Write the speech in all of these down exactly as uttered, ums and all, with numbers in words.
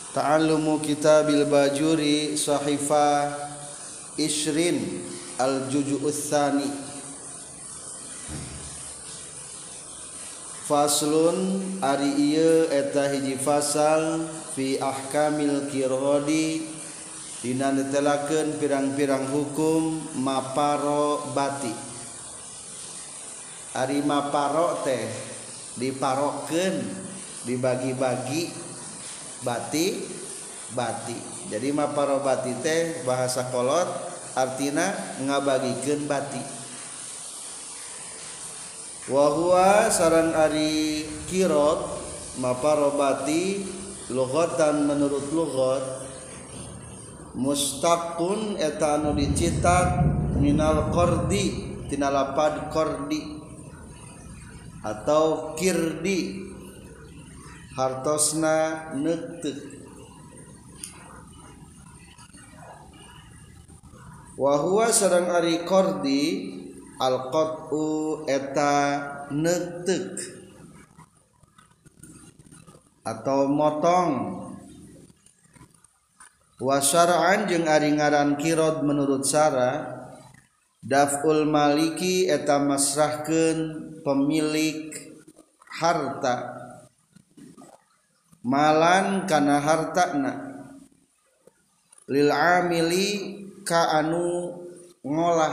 Ta'allumu kitabil bajuri sahifa Ishrin al-juju'uts tsani. Faslun ari ieu eta hiji fasal fi ahkamil qiradi dina netelakeun pirang-pirang hukum maparo bati. Ari maparo teh diparokeun, dibagi-bagi bati bati. Jadi maparo bati teh bahasa kolot artina ngabagikeun bati. Wa huwa saran ari qirad maparo bati lughatan menurut lughat mustaqun eta anu dicitak minal qardi tina lapad qardi atau kirdi hartosna neuteuk. Wa huwa sareng ari qardi al-qat'u eta neuteuk atau motong. Wa syar'an jeung ari ngaran qirad menurut syara daf'ul maliki eta masrahkeun pemilik harta malan kana hartana lil amili ka anu ngolah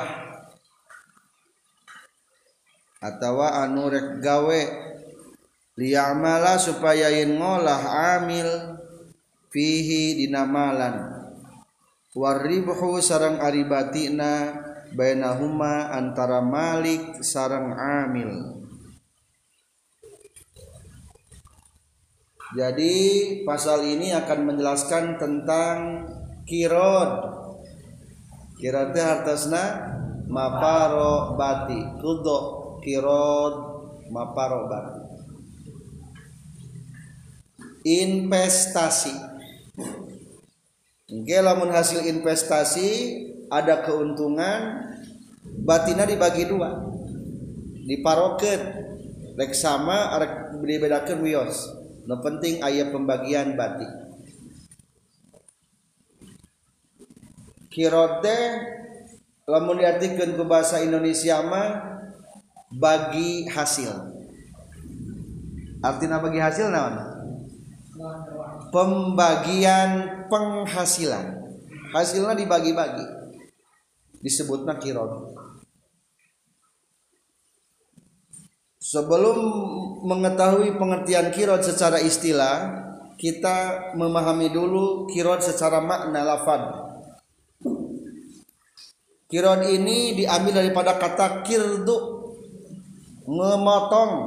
atawa anu rek gawe liya'mala supaya yen ngolah amil fihi dina malan waribhu sareng ari batina bainahuma antara malik sareng amil. Jadi pasal ini akan menjelaskan tentang qirad. Qirad teh hartosna maparo bati. Kudo qirad maparo bati. Investasi. Engke lamun hasil investasi ada keuntungan, batina dibagi dua. Diparokeun. Rek sama arek dibedakeun wios. No penting aya pembagian bati. Qirad teh lamun diartikeun ku bahasa Indonesia mah bagi hasil. Artina bagi hasil naon? Pembagian penghasilan. Hasilnya dibagi-bagi. Disebutna qirad. Sebelum mengetahui pengertian qirad secara istilah, kita memahami dulu qirad secara makna lafaz. Qirad ini diambil daripada kata qirdu, memotong.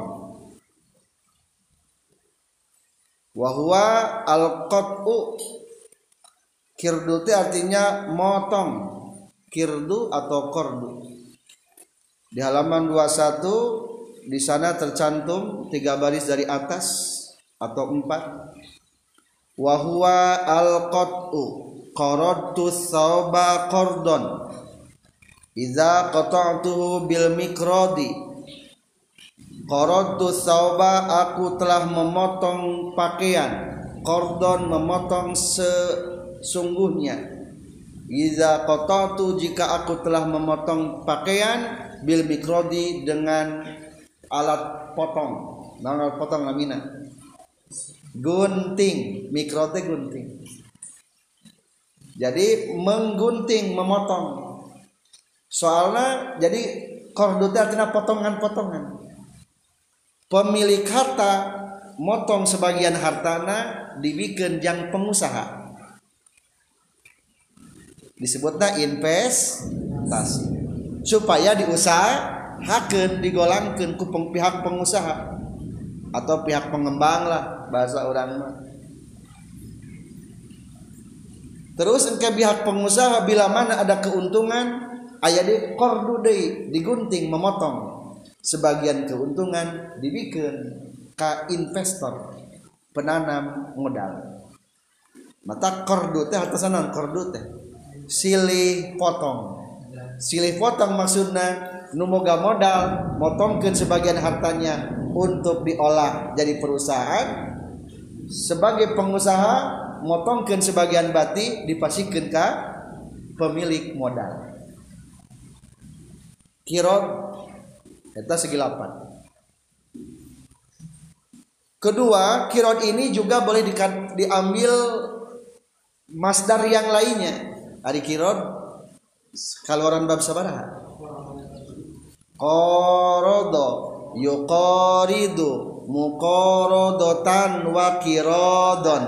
Wa huwa al-qat'u. Qirdu itu artinya motong. Qirdu atau qardu. Di halaman dua puluh satu di sana tercantum tiga baris dari atas atau empat. Wa huwa al-qat'u qaradtu thawba qardon idza qata'tuhu bil mikradi. Qaradtu thawba aku telah memotong pakaian, qardon memotong sesungguhnya. Idza qata'tu jika aku telah memotong pakaian bil mikradi dengan alat potong. Naon alat potong lamina? Gunting, mikrote gunting. Jadi menggunting, memotong. Soalnya jadi qardu teh artinya potongan-potongan. Pemilik harta motong sebagian hartana dibikeun jang pengusaha. Disebutna investasi. Supaya diusahakeun, digolangkeun ku pihak pengusaha atau pihak pengembang lah bahasa orang mah. Terus engke pihak pengusaha bila mana ada keuntungan aya di qardu deui, digunting, memotong. Sebagian keuntungan dibikeun ka investor, penanam modal. Mata qardu teh hartosna qardu teh silih potong. Silih potong maksudna nu boga modal motongkeun sebagian hartanya untuk diolah jadi perusahaan. Sebagai pengusaha motongkeun sebagian bati dipasikeun ka pemilik modal. Qirad eta segi lapan. Kedua, qirad ini juga boleh di, diambil masdar yang lainnya. Ari qirad kaluaran bab sabaraha? Qarada, yuqaridu, muqaradatan wa qiradon.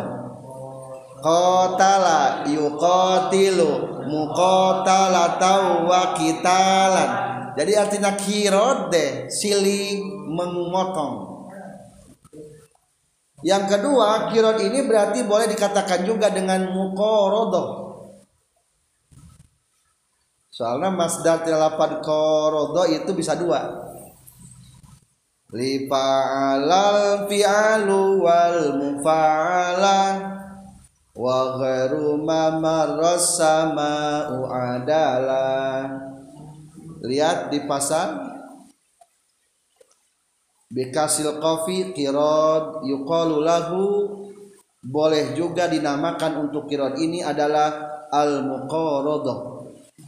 Qatala, yuqatilu, muqatalatan wa qitalan. Jadi artinya qirad deh silih memotong. Yang kedua, qirad ini berarti boleh dikatakan juga dengan muqaradah. Soalnya masdar tilapad qarada itu bisa dua. Li fa'alal fi'alu wal mufa'ala wa ghairu ma marrasama'u adala. Lihat di pasal bikasil qafi qirad yuqalu lahu, boleh juga dinamakan untuk qirad ini adalah al muqaradah.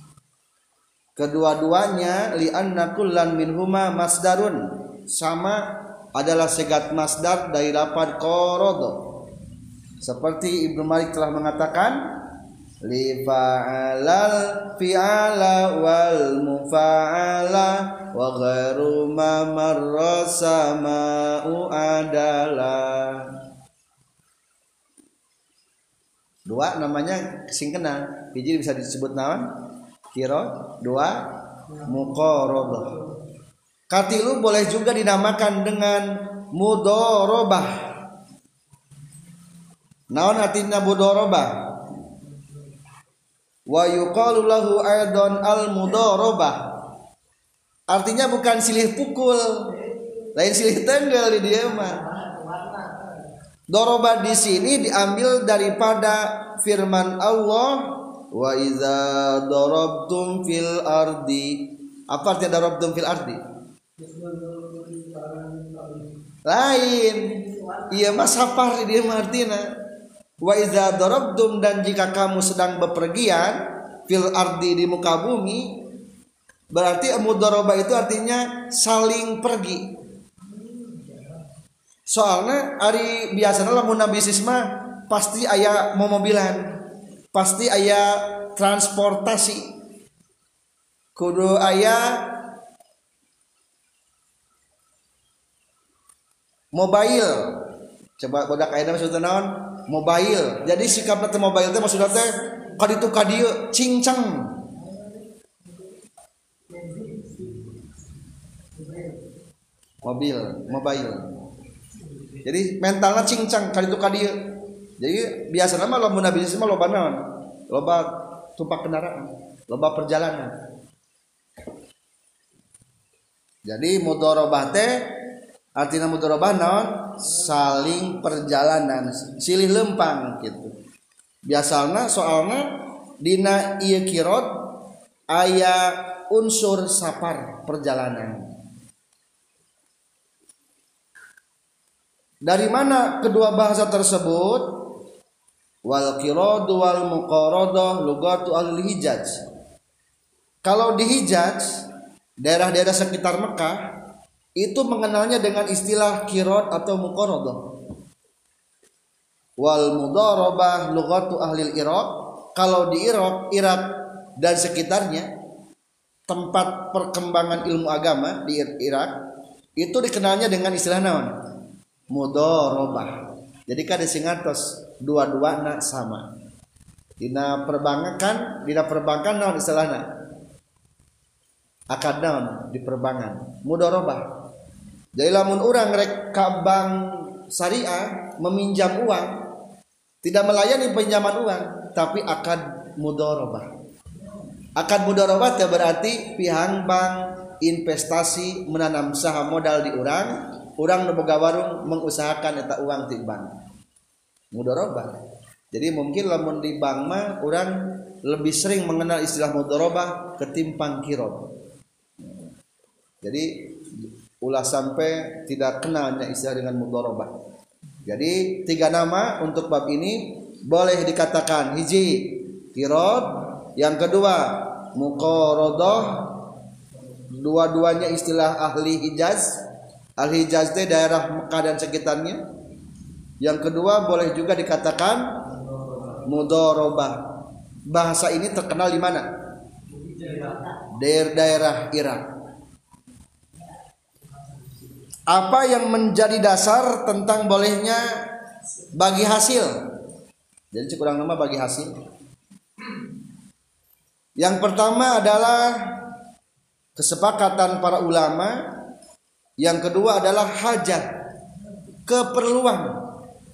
Kedua-duanya li'anna kullan minhuma masdarun, sama adalah segat masdar dari lafaz qarada. Seperti Ibnu Malik telah mengatakan li fa'alal fi'ala wal mufa'ala wa ghairu ma marrasama'u adala. Dua namanya sing kenal. Hiji bisa disebut naon? Qirad, dua muqaradah. Katilu boleh juga dinamakan dengan mudharabah. Naon artinya mudharabah? Wa yuqalu lahu aidan al mudharabah. Artinya bukan silih pukul, lain silih tenggal di dia mah. Daraba di sini diambil daripada firman Allah, wa iza darabtum fil ardi. Apa artinya darabtum fil ardi? Lain. Iya mas sapar di dia mah artinya. Wa iza darabtum, dan jika kamu sedang bepergian fil ardi di muka bumi, berarti mudharabah itu artinya saling pergi. Soalnya ari biasana lamun bisnis mah pasti aya momobilan, pasti aya transportasi, kudu aya mobile. Coba bodak ayeuna maksudna naon? Mobile. Jadi sikapna teh mobile teh maksudna teh ka ditu ka dieu cincang. Mobil, mobile. Jadi mentalna cincang ka ditu ka dieu. Jadi biasana mah lamun bisnis mah loba naon? Loba tumpak kendaraan, loba perjalanan. Jadi mudharabah teh artinya mudharabah naon? Saling perjalanan, silih lempang gitu. Biasanya soalnya dina ieu qirad aya unsur sapar perjalanan. Dari mana kedua bahasa tersebut? Wal qirad wal muqaradah lugatu ahli Hijaz. Kalau di Hijaz, daerah-daerah sekitar Mekah itu mengenalnya dengan istilah qirad atau muqaradah. Wal mudharabah lughatu ahli Iraq. Kalau di Irak, Irak dan sekitarnya, tempat perkembangan ilmu agama di Irak, itu dikenalnya dengan istilah naon? Mudharabah. Jadi kada singatos dua-duana sama. Dina perbankan, dina perbankan naon istilahna? Akad naon di perbankan? Mudharabah. Jadi lamun urang rek ka bank syariah meminjam uang, tidak melayani pinjaman uang, tapi akad mudharabah. Akad mudharabah teh berarti pihak bank investasi menanam saham modal di urang, urang nu boga warung mengusahakan eta uang ti bank. Mudharabah. Jadi mungkin lamun di bank mah urang lebih sering mengenal istilah mudharabah ketimbang qirad. Jadi ulah sampai tidak kenalnya istilah dengan mudharabah. Jadi tiga nama untuk bab ini, boleh dikatakan hiji qirad, yang kedua muqaradah. Dua-duanya istilah ahli Hijaz. Ahli Hijaz itu daerah Mekah dan sekitarnya. Yang kedua boleh juga dikatakan mudharabah. Bahasa ini terkenal di mana? Daerah-daerah Irak. Apa yang menjadi dasar tentang bolehnya bagi hasil? Jadi kurang nama bagi hasil. Yang pertama adalah kesepakatan para ulama. Yang kedua adalah hajat, keperluan.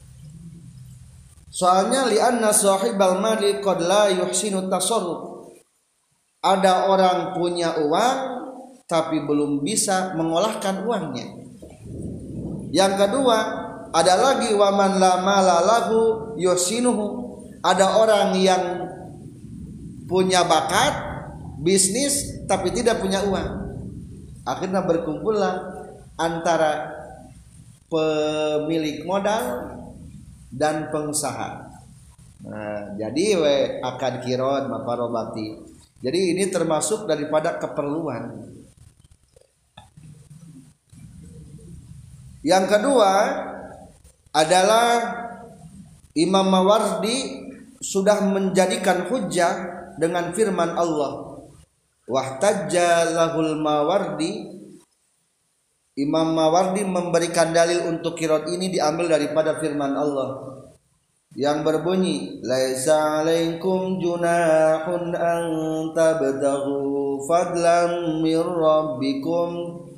Soalnya li'anna sahibal mali qad la yuhsinu tasarruf. Ada orang punya uang tapi belum bisa mengolahkan uangnya. Yang kedua, ada lagi waman la mala lahu yuhsinuhu. Ada orang yang punya bakat bisnis tapi tidak punya uang. Akhirnya berkumpullah antara pemilik modal dan pengusaha. Nah, jadi we akad qirad maparobati. Jadi ini termasuk daripada keperluan. Yang kedua adalah Imam Mawardi sudah menjadikan hujjah dengan firman Allah. Wahtajja lahul Mawardi. Imam Mawardi memberikan dalil untuk qirad ini diambil daripada firman Allah yang berbunyi laisa alaikum junahun an tabtaghu fadlan mir rabbikum.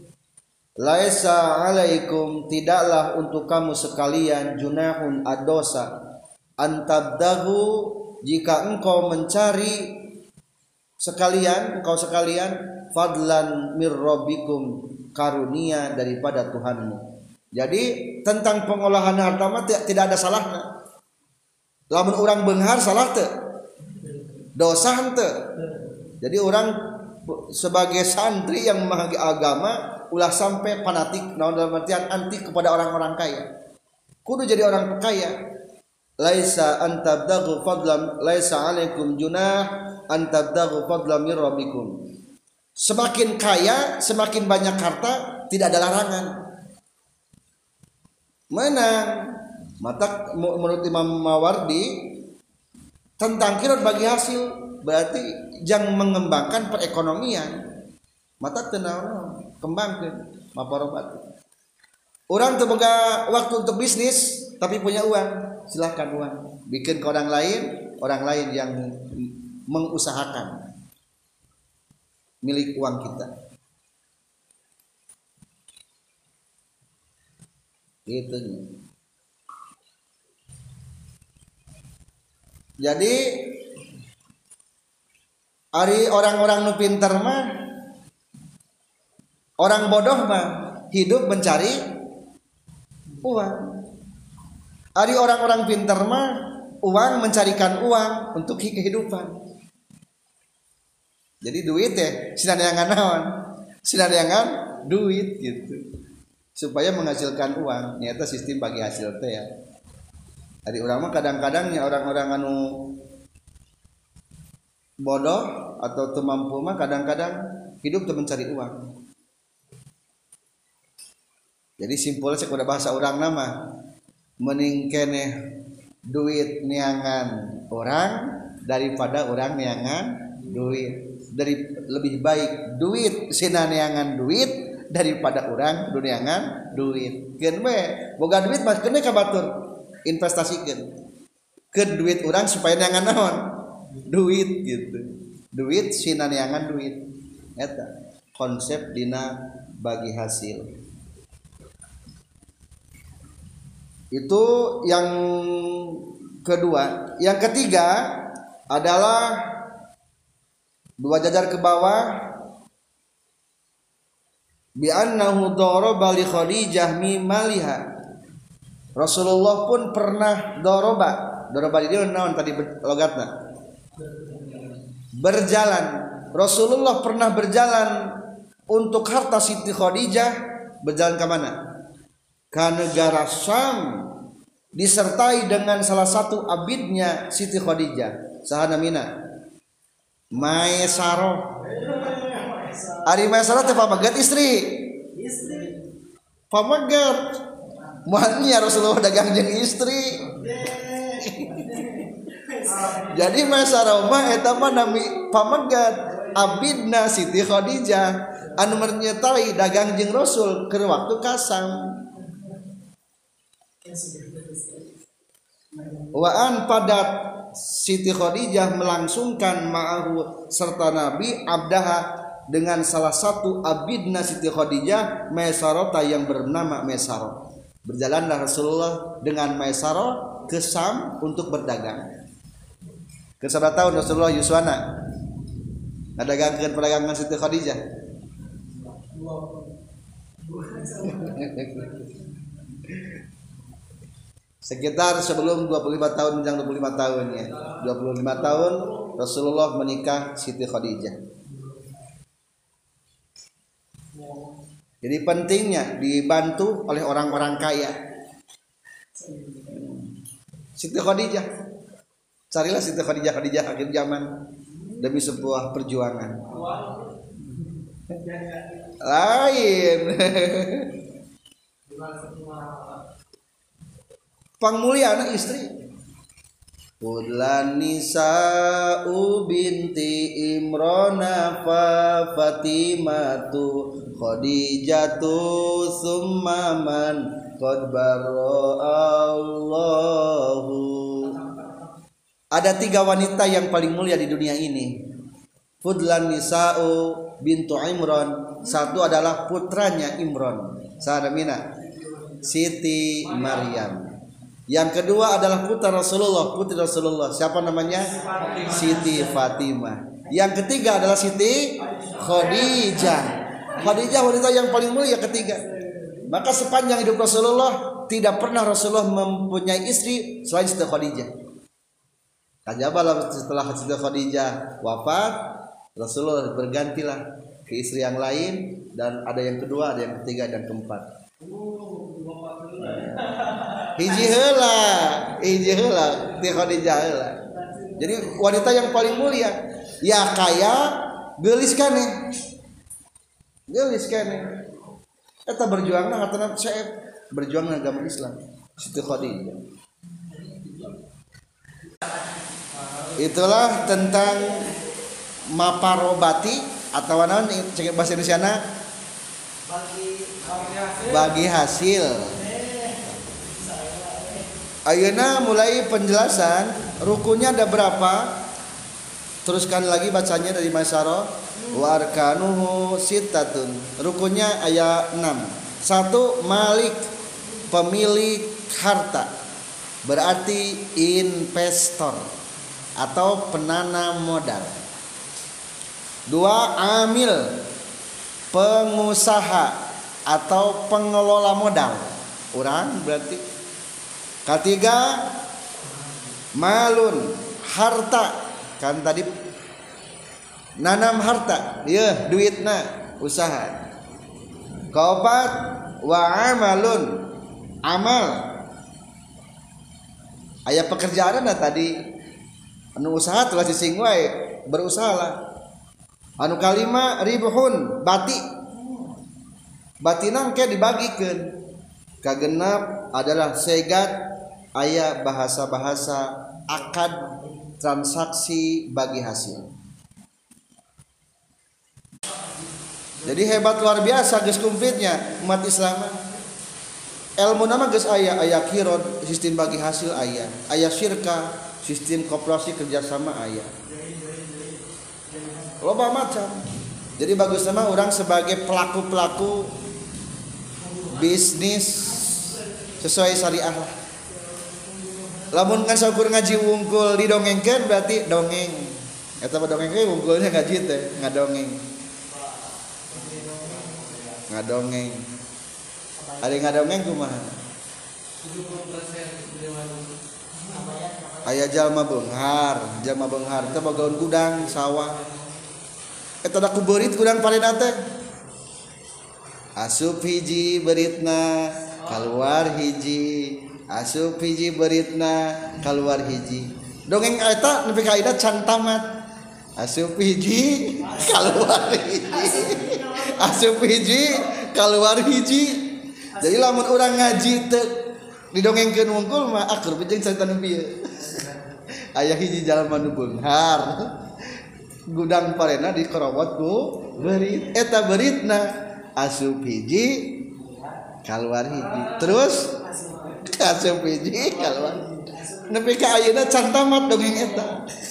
Laisa alaikum, tidaklah untuk kamu sekalian, junahun adosa, an tabtaghu, jika engkau mencari sekalian, engkau sekalian fadlan mir rabbikum, karunia daripada Tuhanmu. Jadi tentang pengolahan harta mah tidak ada salahnya. Lamun orang beunghar salah teu? Dosa henteu. Jadi orang sebagai santri yang memahami agama ulah sampai fanatik, naon dalam artian anti kepada orang-orang kaya. Kudu jadi orang kaya. Laisa antabdaghu fadlan, laisa alaikum junah antabdaghu fadlan mir rabbikum. Semakin kaya, semakin banyak harta, tidak ada larangan. Menang. Mata menurut Imam Mawardi tentang qirad bagi hasil berarti jangan mengembangkan perekonomian. Mata tenang kembangkan maparobat. Orang terbuka waktu untuk bisnis tapi punya uang, silahkan uang. Bikin ke orang lain, orang lain yang mengusahakan milik uang kita. Gitu. Jadi ari orang-orang nu pinter mah, orang bodoh mah hidup mencari uang. Ari orang-orang pinter mah uang mencarikan uang untuk kehidupan. Jadi duit ya sinariangan naon? Sinariangan duit gitu. Supaya menghasilkan uang. Nyata sistem bagi hasil teh ya. Ari urang mah kadang-kadangnya orang-orang anu bodoh atau teu mampu mah kadang-kadang hidup teu mencari uang. Jadi simpulnya cek udah bahasa orang nama mending keneh duit niangan orang daripada orang niangan duit. Dari lebih baik duit sina niangan duit daripada orang niangan duit. Keun we boga duit mah keneh ka batur investasikan ke duit orang supaya niangan naon duit gitu. Duit sina niangan duit eta konsep dina bagi hasil. Itu yang kedua. Yang ketiga adalah dua jajar ke bawah bi annahu daraba li Khadijah mi maliha. Rasulullah pun pernah doroba. Doroba di dia naon tadi logatna? Berjalan. Rasulullah pernah berjalan untuk harta Siti Khadijah. Berjalan ke mana? Ke negara Syam. disertai dengan salah satu abidnya Siti Khadijah. Saha namina? Maesaro. Ari Maesaro teh pamegat istri. Istri. Pamegat. Moalnya Rasulullah dagang jeung istri. Jadi Maesaro mah eta mah nami pamegat abidna Siti Khadijah anu menyertai dagang jeung Rasul keur waktu kasam. Waan padat Siti Khadijah melangsungkan ma'ahu serta Nabi abdaha dengan salah satu abidna Siti Khadijah Maisarota yang bernama Maisarah. Berjalanlah Rasulullah dengan Maisarah ke Sam untuk berdagang. Ke sabaraha tahun Rasulullah yuswana ngadagangkeun perdagangan Siti Khadijah. Sekitar sebelum dua puluh lima tahun menjelang dua puluh lima tahun ya. dua puluh lima tahun Rasulullah menikah Siti Khadijah. Jadi pentingnya dibantu oleh orang-orang kaya. Siti Khadijah. Carilah Siti Khadijah Khadijah akhir zaman demi sebuah perjuangan. Lain. Pangmulyana istri. Fudlan nisa'u binti Imrana fa Fatimatu Khadijatu summa man qad barra'allahu. Ada tiga wanita yang paling mulia di dunia ini. Fudlan nisa'u bintu Imran, satu adalah putranya Imran. Sahamina Siti Maryam. Yang kedua adalah putra Rasulullah, putri Rasulullah. Siapa namanya? Siti Fatimah. Yang ketiga adalah Siti Khadijah. Khadijah wanita yang paling mulia ketiga. Maka sepanjang hidup Rasulullah tidak pernah Rasulullah mempunyai istri selain Siti Khadijah. Kajabalah setelah Siti Khadijah wafat, Rasulullah bergantilah ke istri yang lain, dan ada yang kedua, ada yang ketiga, dan keempat. Hiji heula, hiji heula, Siti Khadijah heula. Jadi wanita yang paling mulia, ya kaya, geulis keneh. Geulis keneh. Eta berjuang na hatana saeb berjuang na agama Islam. Siti Khadijah. Itulah tentang maparobati atau naon cek bahasa Indonesiana bagi hasil. Ayeuna mulai penjelasan rukunnya ada berapa? Teruskan lagi bacanya dari Maisarah. Wa arkanuhu sittatun. Rukunnya ayat enam. Satu, malik, pemilik harta. Berarti investor atau penanam modal. Dua, amil, pengusaha atau pengelola modal. Orang berarti. Ketiga, malun, harta. Kan tadi nanam harta, ya duitna, usaha. Keempat, wa amalun, amal. Aya pekerjaan na tadi anu usaha telah sising wae, berusahalah. Anu kalima, ribhun, bati. Batinang ke dibagikeun. Kagenap adalah segat, aya bahasa-bahasa akad transaksi bagi hasil. Jadi hebat luar biasa geus kumplitnya umat Islam. Ilmu nama geus aya, aya kirot, sistem bagi hasil aya, aya syirka, sistem koperasi kerjasama aya. Loba macam. Jadi bagus nama orang sebagai pelaku-pelaku bisnis sesuai syariah lah. Lamun kan saukur ngaji wungkul didongengkeun berarti dongeng. Eta mah dongeng ge wungkulnya ngaji teh, ngadongeng. Ngadongeng. Ari ngadongeng kumaha? Aya jalma beunghar, jalma beunghar teh bogaun gudang sawah. Eta da kubeurit gudang parena teh. Asup hiji beritna, keluar hiji. asup hiji beritna keluar hiji dongeng eta nepi ka ayeuna can tamat asup hiji keluar hiji asup hiji keluar hiji jadi lamun urang ngaji teu didongengkeun wungkul mah akur jeung cerita nu bieu aya hiji jalma nu beunghar gudang parena dikerobot ku berit eta beritna asup hiji keluar hiji terus asup hiji keluar nepi ka ayeuna can tamat dongeng eta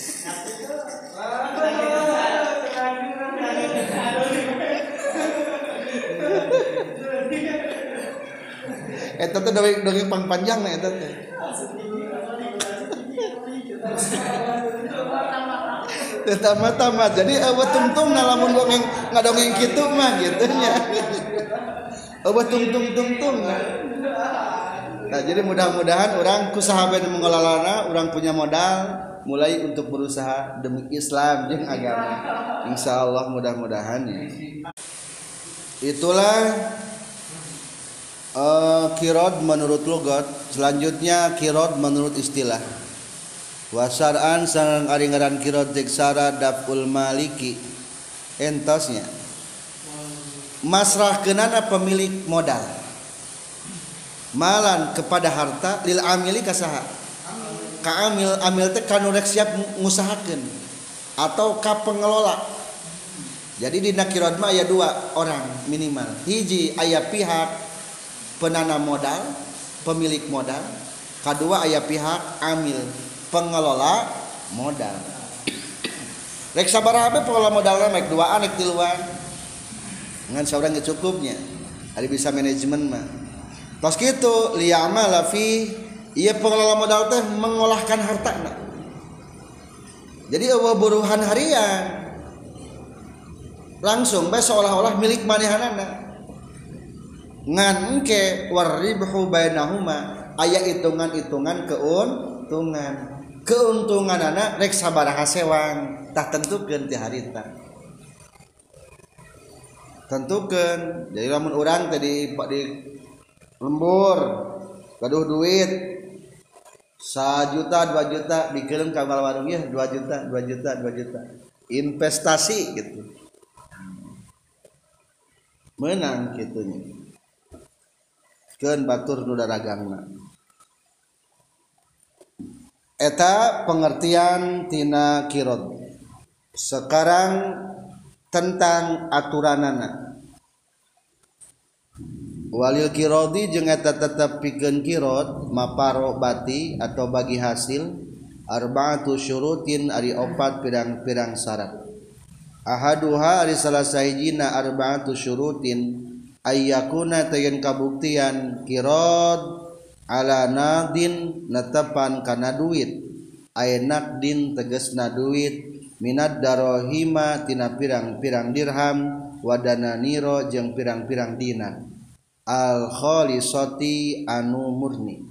eta teh dongeng dongeng panjang na eta teh tamat-tamat jadi eueuh tungtung lamun dongeng ngadongeng kitu mah gitu nya eueuh tungtung-tungtung nah jadi mudah-mudahan orang ku sahabat mengelolana orang punya modal mulai untuk berusaha demi Islam jeung agama insyaallah mudah-mudahan ya itulah uh, qirad menurut logat selanjutnya qirad menurut istilah wasar'an sareng ari ngaran qirad diksara daful maliki entosnya masrahkeunana pemilik modal malan kepada harta lil amili kasaha ka amil amil teh kanu rek siap ngusahakeun atau ka pengelola jadi dina qirad mah aya dua orang minimal hiji aya pihak penanam modal pemilik modal kadua aya pihak amil pengelola modal rek sabaraha bae pengelola modalna rek duaan rek tiluan ngan saurang ge cukupnya ari bisa manajemen mah tos kitu liya'mala fi ieu pengelola modal teh mengolahkan hartana jadi eueuh buruhan harian langsung bae seolah-olah milik manehanana ngan engke waribhu bainahuma aya hitungan-hitungan keuntungan keuntunganana rek sabaraha sewang tah tentukeun ti harita tentukeun jadi lamun urang teh di, di lembur gaduh duit sajuta dua juta dikirim ka warung ya dua juta dua juta dua juta investasi gitu menang kitunya keun batur nu daragangna eta pengertian tina qirad sekarang tentang aturanana walil qiradi jeung eta tetep pikeun qirad maparo bati atau bagi hasil arba'atu syurutin ari opat pirang-pirang syarat ahaduha ari salah sahijina arba'atu syurutin ayyakuna tayen kabuktian qirad ala nadin netepan kana duit ay naqdin tegasna duit minad darahima tina pirang-pirang dirham wadana niro jeung pirang-pirang dinar al khalisati anu murni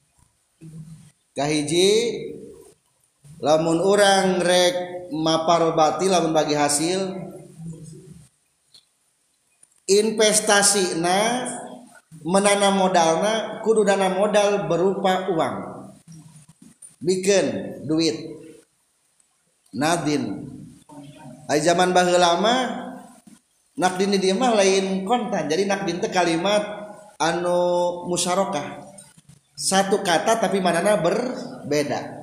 kahiji lamun urang rek maparobati lamun bagi hasil investasi na menanam modalna kudu dana modal berupa uang bikin duit nadin ay zaman baheula mah nakdin di mah lain kontan jadi nakdin teh kalimat anu musyarakah satu kata tapi manana berbeda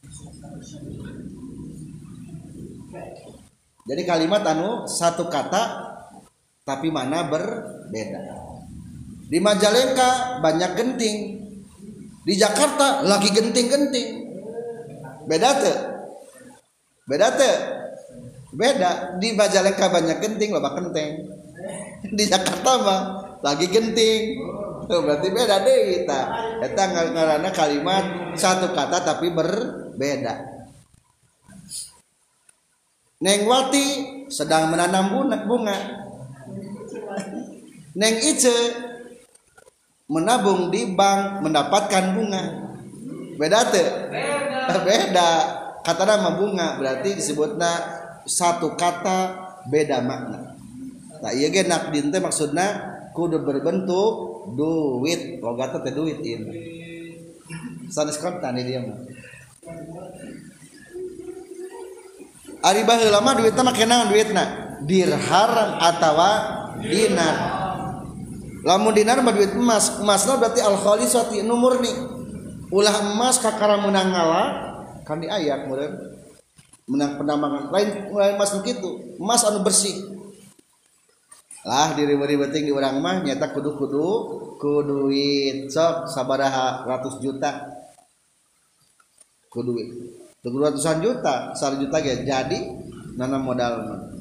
jadi kalimat anu satu kata tapi mana berbeda di Majalengka banyak genting di Jakarta lagi genting-genting beda tuh beda tuh beda di Majalengka banyak genting loba kenteng di Jakarta mah lagi genting berarti beda deh kita eta ngaranna kalimat satu kata tapi berbeda Neng Wati sedang menanam bunga Neng Ice menabung di bank mendapatkan bunga beda tuh beda kata nama bunga berarti disebutnya satu kata beda makna. Nah iya ge nakdin teh maksudna kudu berbentuk duit, logatna teh duit ini. sanes kontan dia mah ari baheula mah duitna make naon duitna dirham atawa dinar lamun dinar mah duit emas emasna berarti al khalisati nu murni ulah emas kakara menang ngala kan di ayat meureun menang penambangan lain lain emas nu kitu emas anu bersih lah diribet-ribeting di urang mah nyata kudu-kudu ku duit sok sabaraha ratus juta ku duit tuh ratusan juta satu juta ge jadi nanam modal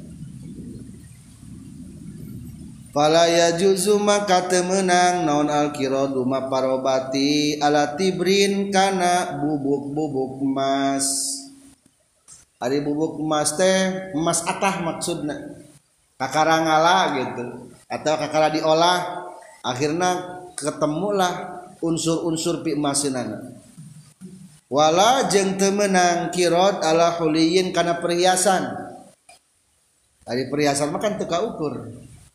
fala yajuzu maka teu meunang naon al-qiradu maparobati ala tibrin kana bubuk-bubuk emas ari bubuk emas teh emas atah maksudna kakara ngala gitu atau kakara diolah akhirna ketemulah unsur-unsur pi emaseunana wala jeung teu meunang qirad ala huliyin kana perhiasan ari perhiasan mah kan teu kaukur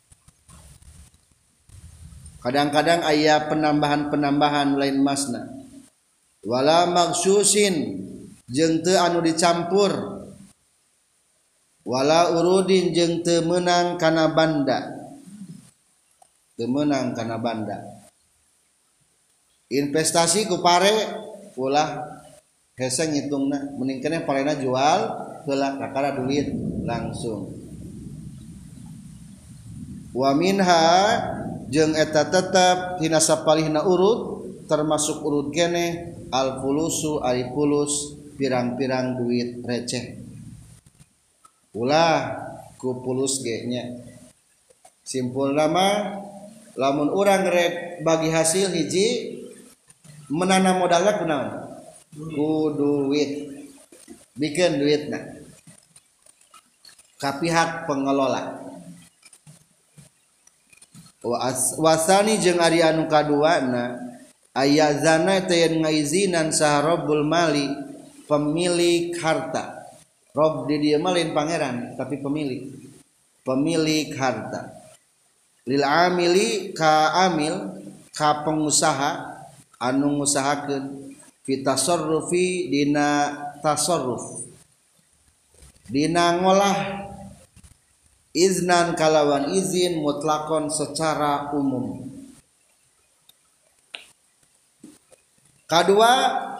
kadang-kadang aya penambahan-penambahan lain emasna wala maghsusin jeung teu anu dicampur wala urudin jeung teu meunang kana banda teu meunang kana banda investasi ku pare ulah hese ngitungna mending keneh parena jual heula kakara duit langsung wa minha jeung eta tetep tina sapalihna urut termasuk urut keneh al fulusu ari fulus pirang-pirang duit receh ulah ku fulus ge nya simpulna mah lamun urang rek bagi hasil hiji menanam modalna kunaon ku duit bikin duitna ka pihak pengelola wasani jeung ari anu kaduana ayazana teh ngaizinan saharabul mali pemilik harta rob di dieu mah lain pangeran tapi pemilik pemilik harta lil amili ka amil ka pengusaha anu ngusahakeun fi tasarrufi dina tasarruf dina ngolah iznan kalawan izin mutlakon secara umum kedua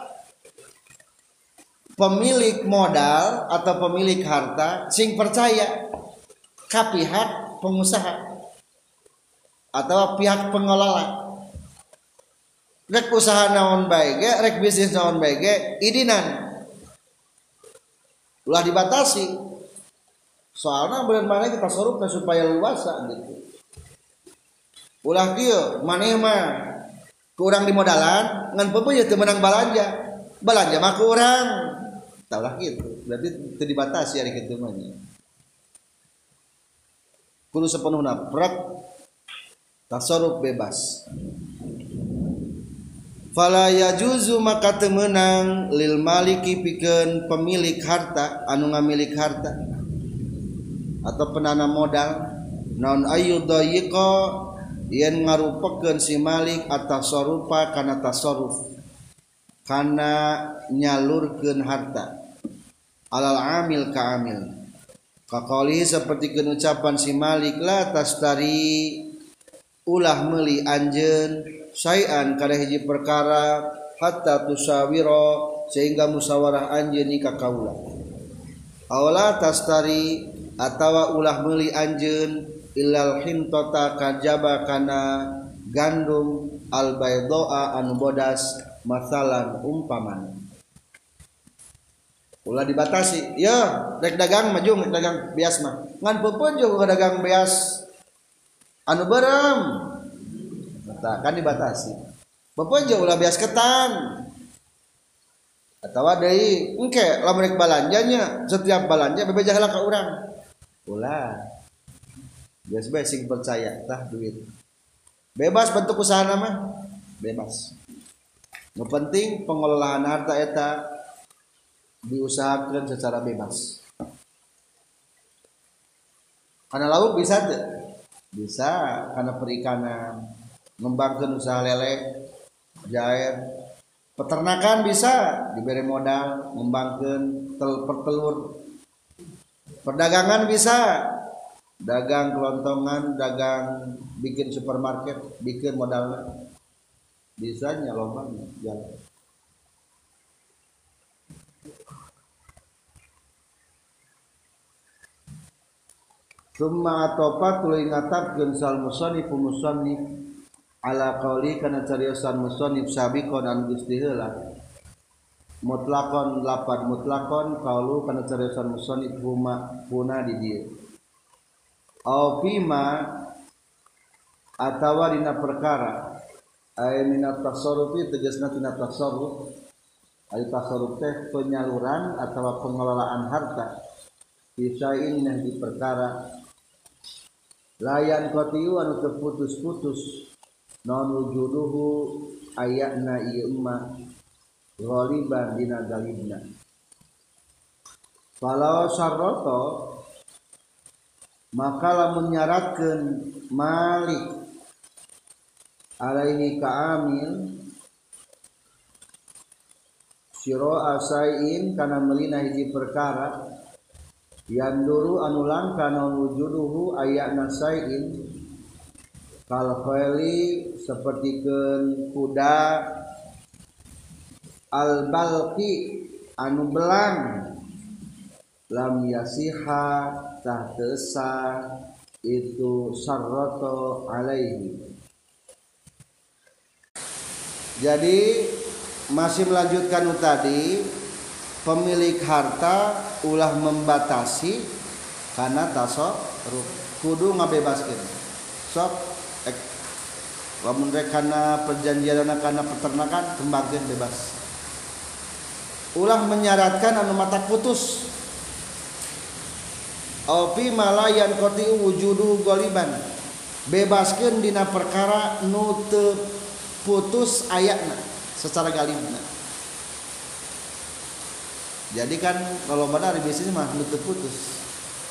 pemilik modal atau pemilik harta sing percaya ka pihak pengusaha atau pihak pengelola rek usaha naon bae ge rek bisnis naon bae ge idinan ulah dibatasi soalna bener mana kita sorupna supaya luasa gitu ulah kieu maneh mah ku urang di modalan ngan peupeut teu meunang balanja balanja mah ku urang taulah kitu berarti teu dibatasi ari kitu mah kudu sapenuhna prek tasarruf bebas fala yajuzu maka teu meunang lil maliki pikeun pemilik harta anu ngamilik harta atau penanam modal naon ayyudayyiqa yen ngarupakeun si malik at-tasarrufa kana tasarruf kana nyalurkeun harta alal amil ka amil kaqali saperti keun ucapan si malik la tastari ulah meuli anjeun syai'an kana hiji perkara hatta tusawira sehingga musyawarah anjeun ka kaula aula tastari atawa ulah meuli anjeun illal hintata kajaba kana gandum al baydoa anu bodas masalan umpaman ulah dibatasi ya rek dagang maju rek dagang bias mah ngan peupeun juga dagang bias anu beureum tah kan dibatasi peupeun juga ulah bias ketan atawa deui engke lamun rek balanjanya setiap balanja bebeja heula ka urang ulah bias bae sing percaya tah duit bebas bentuk usaha mah bebas nu penting pengelolaan harta eta diusahakeun secara bebas kana lauk bisa teu bisa kana perikanan ngembangkeun usaha lele jair Peternakan bisa diberi modal ngembangkeun tel pertelur. Perdagangan bisa dagang kelontongan, dagang bikin supermarket, bikin modalnya bisa nya loba jalan. Summa atopa tuluy ngatapkeun sal musannif musannif ala qauli kana cariosan musannif sabiqon an gusti heula mutlaqon lapad mutlaqon qaulu kana cariosan musannif huma puna di dieu au fima atawa dina perkara ay minat tasarrufi tegasna tina tasarruf ay tasarruf teh penyaluran atawa pengelolaan harta bisain yang di perkara layan kotiu anu teu putus-putus non wujuduhu ayatna ieu emma ghaliban dina galibna falau syarroto maka lamun nyaratkeun malik alaihi ka amil siro asain kana melina hiji perkara yanduru anu langka non wujuduhu ayatna sain kal khaili sapertikeun kuda al balqi anu belang lam yasiha tahtesa itu sarrato alaihi. Jadi masih melanjutkan tadi pemilik harta ulah membatasi karena tasarruf kudu ngabebaskeun sok ek lamun rek kana perjanjianna kana peternakan kembangkeun bebas ulah menyaratkan anu mata putus au fi malayan qati wujudu goliban bebaskeun dina perkara nu teu putus ayatna secara galibna. Jadi kan kalau benar bisnis mah nu teu putus.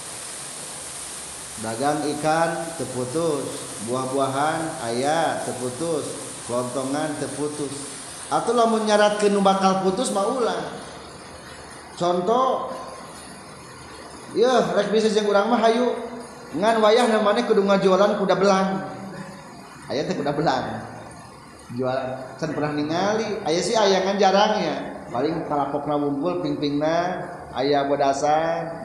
Dagang ikan teu putus, buah-buahan aya teu putus, kelontongan teu putus. Atuh lamun nyaratkeun nu bakal putus mah ulah. Contoh yeuh rek bisnis jeung urang mah hayu ngan wayahna maneh kudu ngajualan kuda belang. Aya teh kuda belang. Jualan can pernah ningali, aya sih aya kan jarang ya. Paling kalapokna wumpul ping-pingna aya bodasan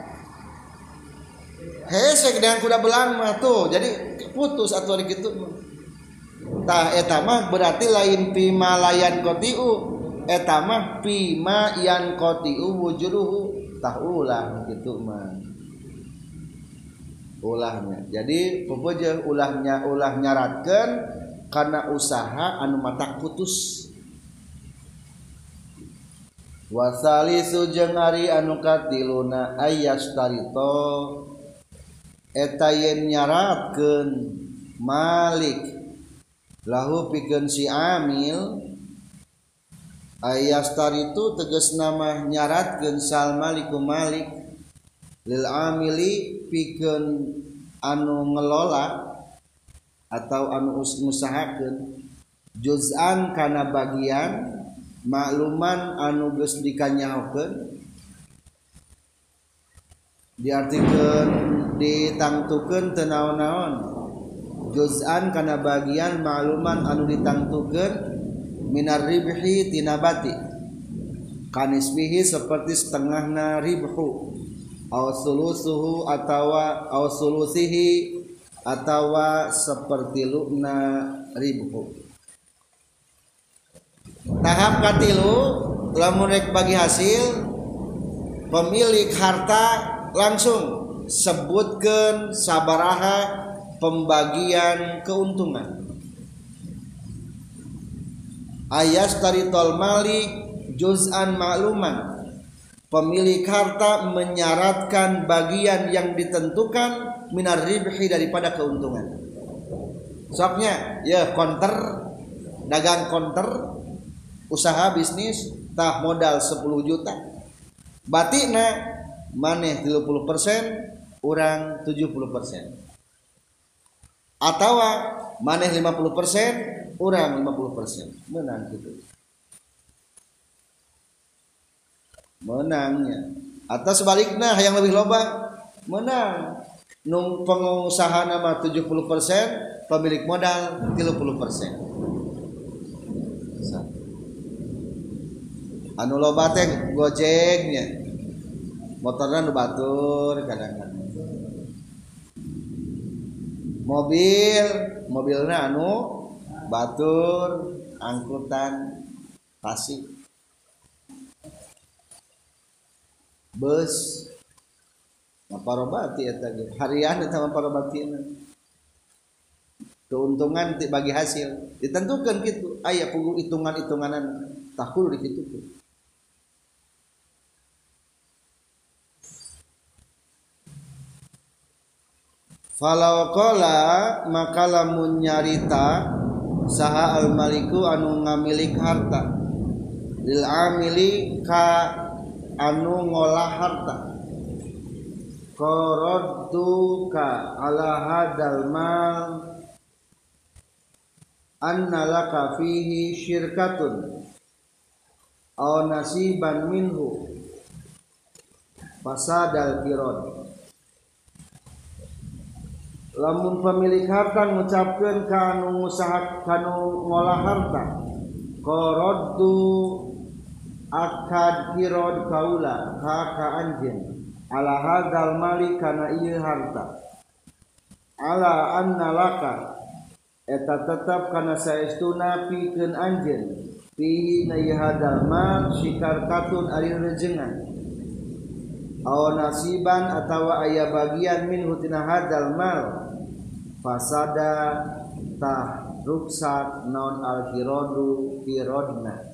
hese dengan kuda belang mah tuh jadi putus atuh ari kitu tah eta mah berarti lain pima layan qatiu eta mah pima yan qatiu wujuduhu tah ulah kitu mah ulahnya jadi pupujeun ulahnya ulah nyaratkeun karena usaha anu matak putus. Wasalisu jeung ari anu katiluna ayastarito eta yen nyaratkeun malik lahu pikeun si amil ayastaritu tegasna mah nyaratkeun sal maliku malik lil amili pikeun anu ngelola atau anu ngusahakeun juz'an kana bagian makluman anu geus dikanyahokeun diartikeun ditangtukeun teu naon-naon juz'an kana bagian makluman anu ditangtukeun minar ribhi tina bati kanisbihi seperti setengahna ribhu aw sulusuhu atawa aw sulusihi atawa seperti luna ribhu. Tahap katilu lamun rek bagi hasil pemilik harta langsung sebutkeun sabaraha pembagian keuntungan ayas taritol malik juz'an makluman pemilik harta menyaratkan bagian yang ditentukan minar ribhi daripada keuntungan soknya ya konter dagang konter usaha bisnis tah modal sepuluh juta batina maneh tiga puluh persen urang tujuh puluh persen atawa maneh lima puluh persen urang lima puluh persen menang gitu menangnya. Atau sebaliknya yang lebih loba menang. Nung pengusaha nama tujuh puluh persen, pemilik modal tiga puluh persen. Anu loba teh Gojeknya. Motorna nu batur kadang-kadang. Mobil, mobilna anu batur, angkutan tasik. Bus maparobati eta ge harian eta maparobatina keuntungan bagi hasil ditentukan gitu aya pugu hitungan-hitunganan tah kudu dikitukeun. Falau qala maka lamun nyarita saha al maliku anu ngamilik harta lil amili ka anu ngolah harta qaradtuka ala hadal mal anna laka fihi syirkatun aw nasiban minhu fasadal qirad. Lamun pemilik harta ngucapkeun ka anu ngusaha kanu ngolah harta qaradtu akad kirod kaula ka ka anjeun ala hadal mali kana ieu harta ala anna laka eta tetep kana saestuna pikeun anjeun fi na ieu hadal mal sikarkatun ari rejengan aw nasiban atawa aya bagian min hutina hadal mal fasada tah ruksat non al kirodu kirodna.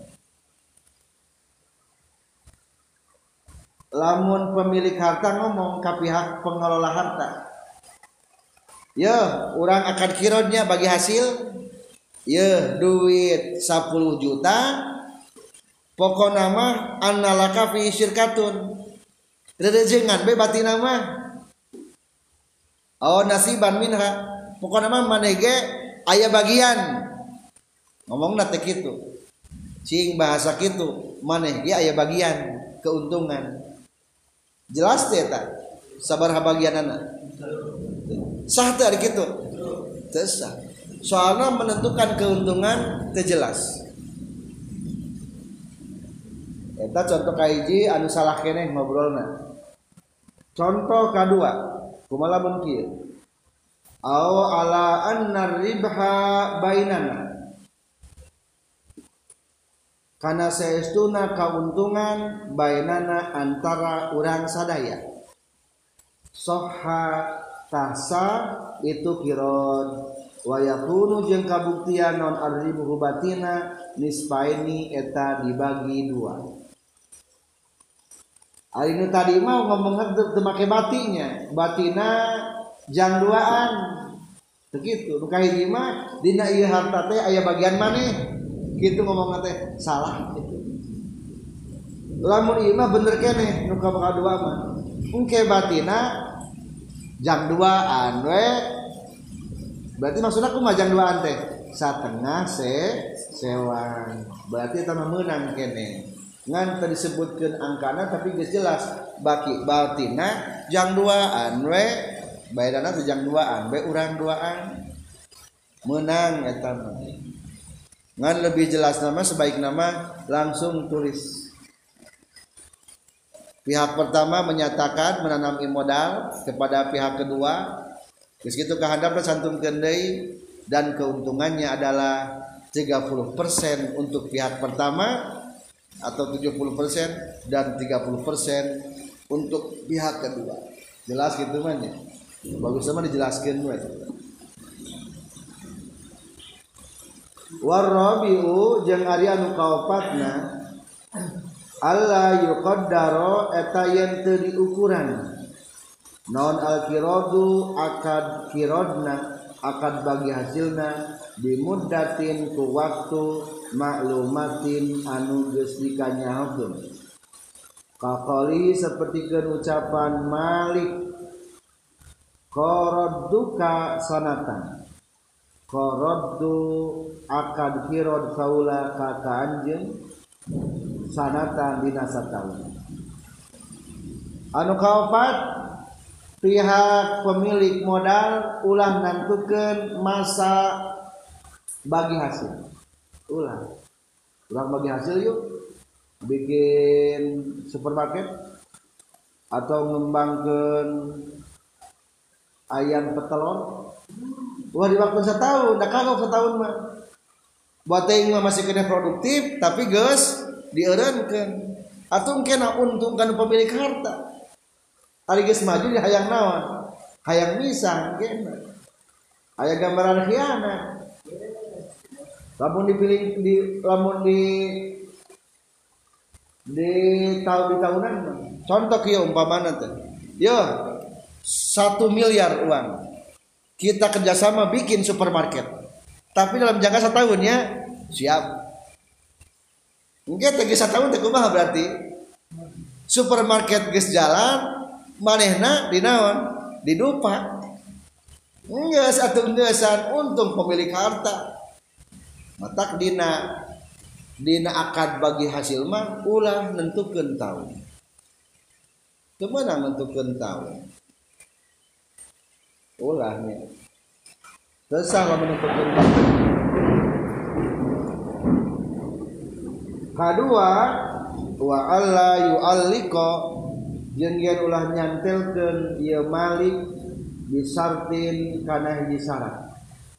Lamun pemilik harta ngomong ke pihak pengelola harta, ya orang akan kirodnya bagi hasil, ya duit sepuluh juta, pokok nama analaka fi syirkatun, rejengan be bati nama, oh nasiban minha, pokok nama manege aya bagian, ngomong nate kitu, cing bahasa kitu, manege aya bagian keuntungan. Jelas teh eta sabaraha bagianana sah teh ari kitu teu sah soalna menentukan keuntungan teu jelas eta contoh kahiji anu salah keneh ngobrolna. Contoh kadua kumaha mun kieu aw ala anna ribha bainana kana saestuna kauntungan bainana antara urang sadaya soha tasa itu kirod wa yakunu jeung kabuktian non arribu hubatina nisbaini eta dibagi dua. Ari nu tadi mah ngomong teu make batinya batina jang duaan begitu nu kahiji mah dina ieu harta teh aya bagian maneh gitu ngomong teh salah gitu. Lamun ieu mah bener keneh nu kadua mah. Engke batina jang duaan we. Berarti maksudna kumaha jang duaan teh? Satengah se sewan. Berarti eta mah meunang keneh. Ngan teu disebutkeun angkana tapi geus jelas baki batina jang duaan we. Baedana teh jang duaan we urang duaan. Meunang eta mah. Ngan lebih jelas nama sebaik nama langsung tulis. Pihak pertama menyatakan menanami modal kepada pihak kedua. Geus kitu kahandapna santumkeun deui dan keuntungannya adalah tiga puluh persen untuk pihak pertama atau tujuh puluh persen dan tiga puluh persen untuk pihak kedua. Jelas gitu mah nya. Bagus sama dijelaskeun we. Warabiu jeung ari anu kaopatna alla yuqaddaro eta yen teu diukuran non al kiradu akad kirodna akad bagi hasilna bimuddatin ku waktu maklumatin anu geus dikanyahokeun kaqali sapertikeun ucapan Malik qaradduka sanatan qaraddu akad kirod kaula ka ka anjeun sanatan dina sataun anu kaopat pihak pemilik modal ulah nantukeun masa bagi hasil. Ulah ulah bagi hasil yuk bikin supermarket atau ngembangkeun ayam petelur. Wah di waktu setahun, dah kagok setahun mah. Buat yang masih kena produktif, tapi geus dieureunkeun. Atuh kena untung kan pemilik harta. Ari geus maju di hayang naon? Hayang misah kena. Aya gambaran khianat. Lamun dipilih di lamun di di tahun di tahunan mah. Contoh kieu umpamana teh. Yo, satu miliar uang. Kita kerjasama bikin supermarket, tapi dalam jangka setahun ya siap. Mungkin tegi setahun teh kumaha berarti supermarket geus jalan, manehna di naon didupa. Geus atuh geusan untung pemilik harta. Matak dina dina akad bagi hasil mah ulah nentukeun tahun. Teu meunang nentukeun tahun. Ulahnya susah lah menentukan. Kedua wa alla yu'alliqa jeung yen ulah nyantelkeun ieu malik bisartin kana hiji syarat.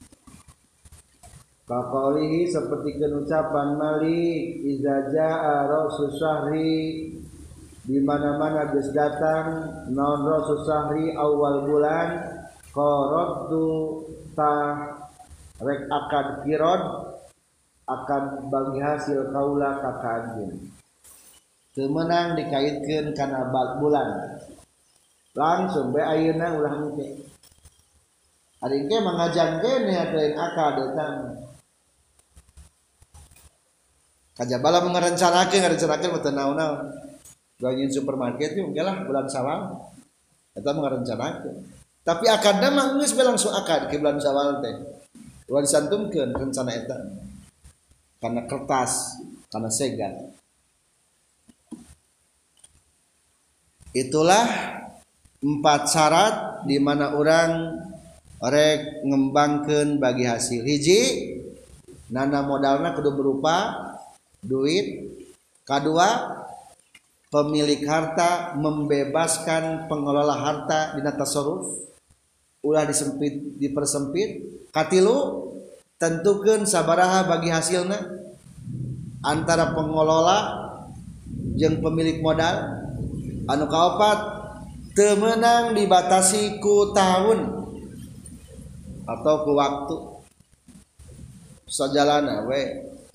Kaqalihi sapertikeun ucapan malik iza jaa rasul syahri di mana-mana geus datang naon rasul syahri awal bulan qaradu ta rek akad kirod akan bagi hasil kaula ka kaanjeun teu meunang dikaitkeun kana bulan langsung bae ayeuna ulah engke ari engke mangajang kene atuh akad eta kajabala mengerencanakeun ngarencanakeun mah teu naon-naon bagi supermarket itu lah bulan Syawal eta mengerencanakeun. Tapi akadna mah geus bae langsung akad ke bulan Syawal teh. Ulah disantumkeun rencana eta. Karena kertas, karena segan. Itulah empat syarat di mana orang rek ngembangkeun bagi hasil. Hiji, nana modalna kudu berupa duit. Kedua, pemilik harta membebaskan pengelola harta dina tasarruf. Ulah disempit dipersempit. Katilu tentukeun sabaraha bagi hasilna antara pengelola jeung pemilik modal. Anu kaopat teu meunang dibatasi ku tahun atau ku waktu sajalana we.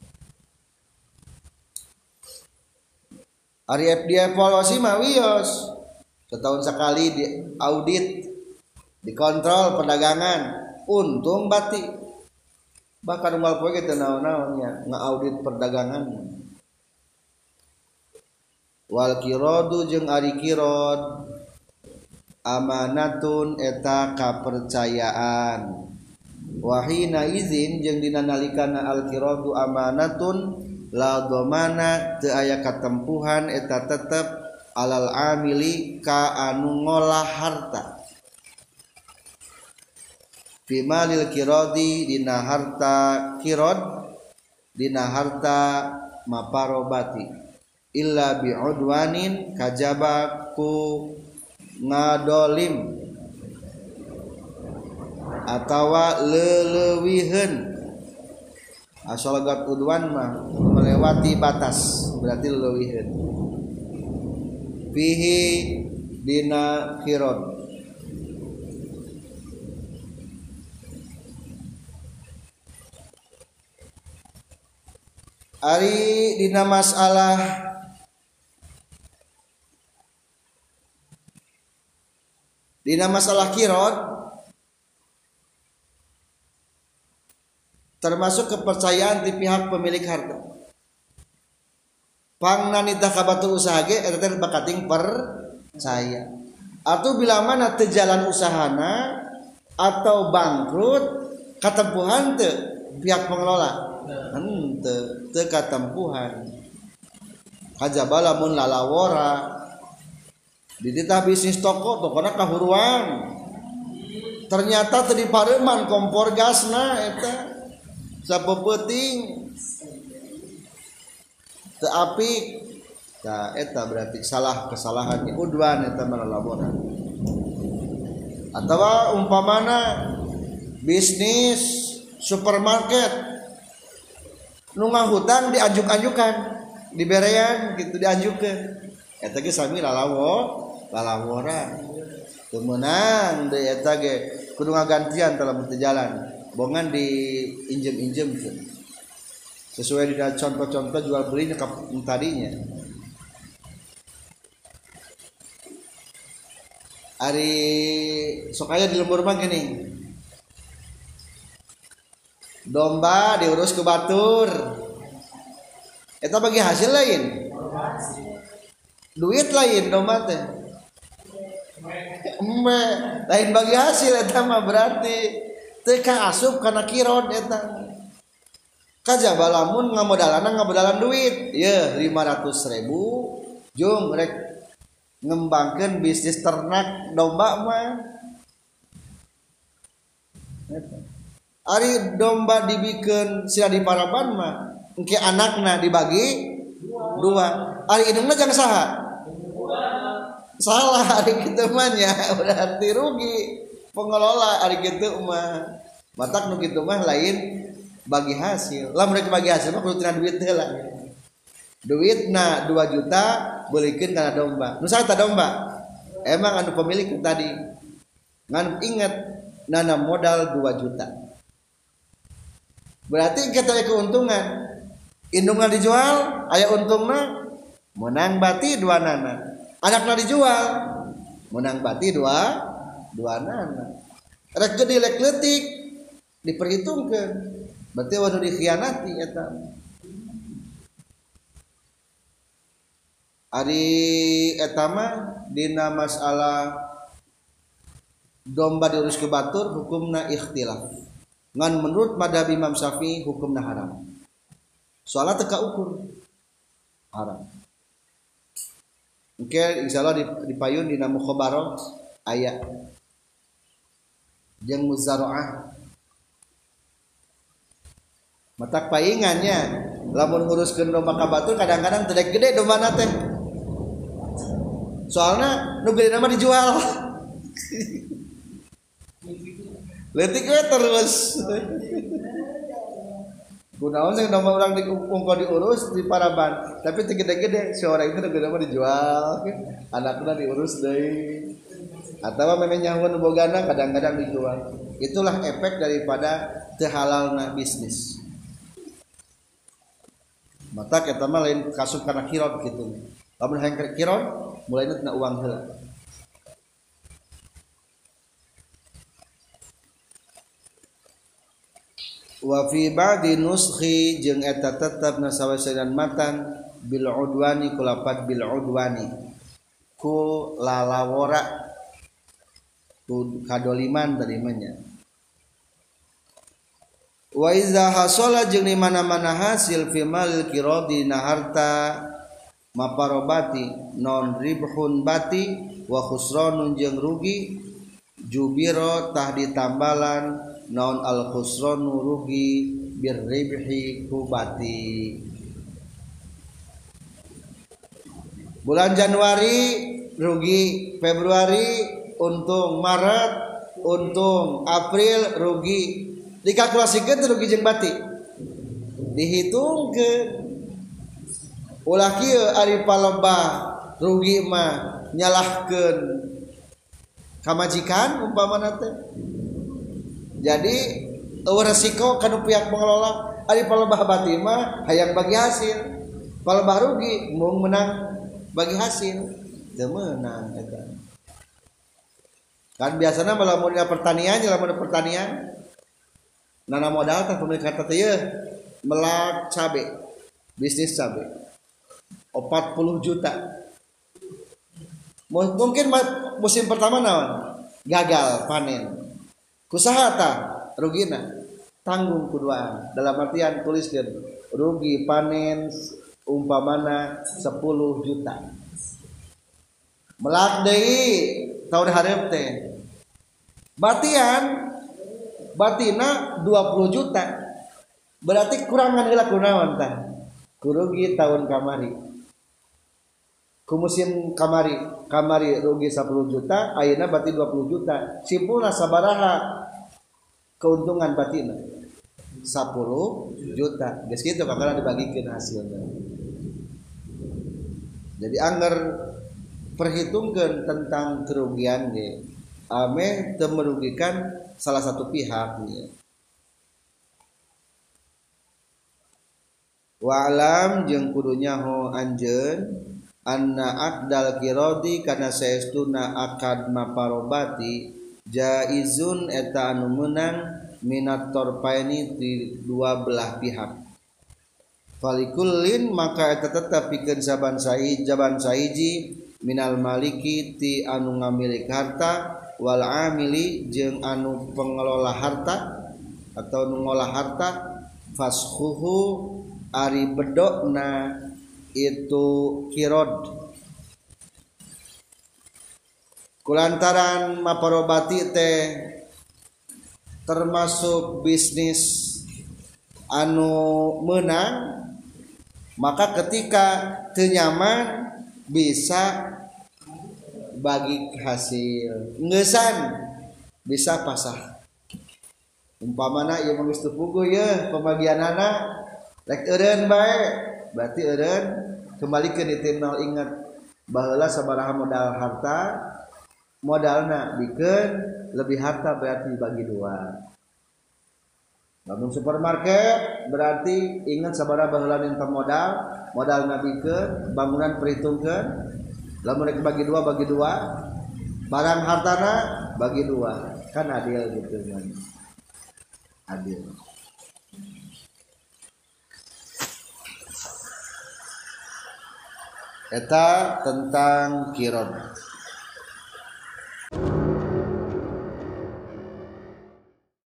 Ari dievaluasi mah wios setahun sekali di audit dikontrol perdagangan untung bati bahkan unggal poe teh naon-naonnya ngaaudit perdagangan wal kiradu jeung ari kirad amanatun eta kapercayaan wahina izin jeung dina nalikana al kiradu amanatun la dhamana teu aya katempuhan eta tetep alal amili ka anu ngolah harta bimalil kirodi dina harta kirod dina harta maparobati illa bi'udwanin kajaba ku ngadolim atawa leulewiheun asal gat udwan mah melewati batas berarti leulewiheun fihi dina kirod ari dina masalah dina masalah kirot termasuk kepercayaan di pihak pemilik harta. Pangna nitah kabatu usaha ge eta teh bakating percaya. Atuh bila mana teu jalan usahana atau bangkrut katempuhan teu pihak pengelola. Henteu teu katempuhan. Kajaba lamun lalawora di titah bisnis toko tokona kahuruan ternyata tadi pareman kompor gasna eta sapeuting teu apik tah eta berarti salah kesalahan udwan eta malalaboran atawa umpamana bisnis supermarket nu ngahutang dianjuk-anjukan diberean gitu dianjukeun eta ge sami lalawo lalaworan teu meunang deui eta ge kudu ngagantian dalam teu jalan bongan diinjem-injemkeun sesuai dengan contoh-contoh jual belinya tadinya. Ari sok aya di lembur mah gini domba diurus ke batur eta bagi hasil lain duit lain domba teh embe lain bagi hasil eta mah berarti teu kaasup kana kirod eta kajaba lamun ngamodalanna ngamodalan duit ye lima ratus ribu jeung rek ngembangkeun bisnis ternak domba mah ari domba dibikeun sila diparaban mah engke anakna dibagi dua ari indungna jang saha salah ari kitu mah nya berarti rugi pengelola ari kitu mah matak nu kitu mah lain bagi hasil lamun rek bagi hasil mah kudu tina duit heula duitna dua juta beuleikeun kana domba nu saha domba emang anu pemilik tadi ngan inget nana modal dua juta berarti kita keuntungan indungna dijual aya untungna menang bati dua nana anakna dijual menang bati dua dua nana rek gede lek leutik diperhitungkeun berarti waduh dikhianati eta ari eta mah dina masalah domba diurus ke batur hukumna ikhtilaf ngan menurut madhab Imam Syafi'i hukumna haram soalna teu kaukur haram engke insyaallah dipayun dina mukhabarah aya jeung muzaraah matak paingannya lamun nguruskeun domba ka batur kadang-kadang teu gede dombana teh soalnya nu gede nama dijual leutik we terus kunaon sing domba urang diungko diurus di paraban tapi teu gede-gede si orang itu nu gede nama dijual anakna diurus deui atawa memang nyawa nu bogana kadang-kadang dijual itulah efek daripada teu halalna bisnis mata kita mah lain kasub kana kirot gitu lamun hayang kirot mulainya tina uang heula wa fi ba'di nuskhi jeung eta tetep nasawasadan matan bil udwani kulapat bil udwani ku lalawora ku kadoliman tarimanya wa iza hasala jeung di mana-mana hasil fi mal kiradi na harta maparobati non ribhun bati wa khusranun jeung rugi jubiro tah ditambalan non al khusranu rugi bir ribhi kubati bulan Januari rugi Februari untung Maret untung April rugi dikalkulasikeun teh rugi jeung bati dihitungkeun ulah kieu ari palebah rugi mah nyalahkeun kamajikan umpamana teh jadi eueuh resiko kana pihak pengelola ari palebah bati mah hayang bagi hasil palebah rugi mung menang bagi hasil teu meunang eta kan biasana lamun pertanian lamun pertanian nana modal teh pemilik kata teh melak cabe bisnis cabe empat puluh juta mungkin musim pertama naon gagal panen kusaha tah rugina tanggung kuduaan dalam artian tuliskeun rugi panen umpamana sepuluh juta melak deui tahun hareup teh batian batina dua puluh juta berarti kurangan heula kunaon tah kurugi tahun kamari ku musim kamari kamari rugi sepuluh juta ayeuna berarti dua puluh juta simpulna sabaraha keuntungan batina sepuluh juta geus kitu kakana dibagikeun hasilna jadi anggar perhitungkan tentang kerugian ge ame teu merugikan salah satu pihak ya. Wa'lam jeung kudu nyaho anjeun anna aqdal qiradi kana saestuna akad maparobati jaizun eta anu meunang minat torpaini di dua belah pihak falikullin maka eta tetep pikeun saban saiji jaban saiji minal maliki ti anu ngamilik harta wal amili jeung anu pengelola harta atau nu ngolah harta fashuhu ari bedokna itu kirod kulantaran maparobati teh termasuk bisnis anu menang maka ketika teu nyaman bisa bagi hasil ngeusan bisa pasah umpamana ieu geus teu puguh ye pembagianana rek eureun bae berarti eureun kembalikeun di nol ingat baheula sabaraha modal harta modalna bikeun lebih harta berarti bagi dua lamun supermarket berarti ingat sabaraha baheula minta modal modalna bikeun bangunan perhitungkeun lamun rek bagi dua bagi dua barang hartana bagi dua kan adil gitu kan adil eta tentang qirad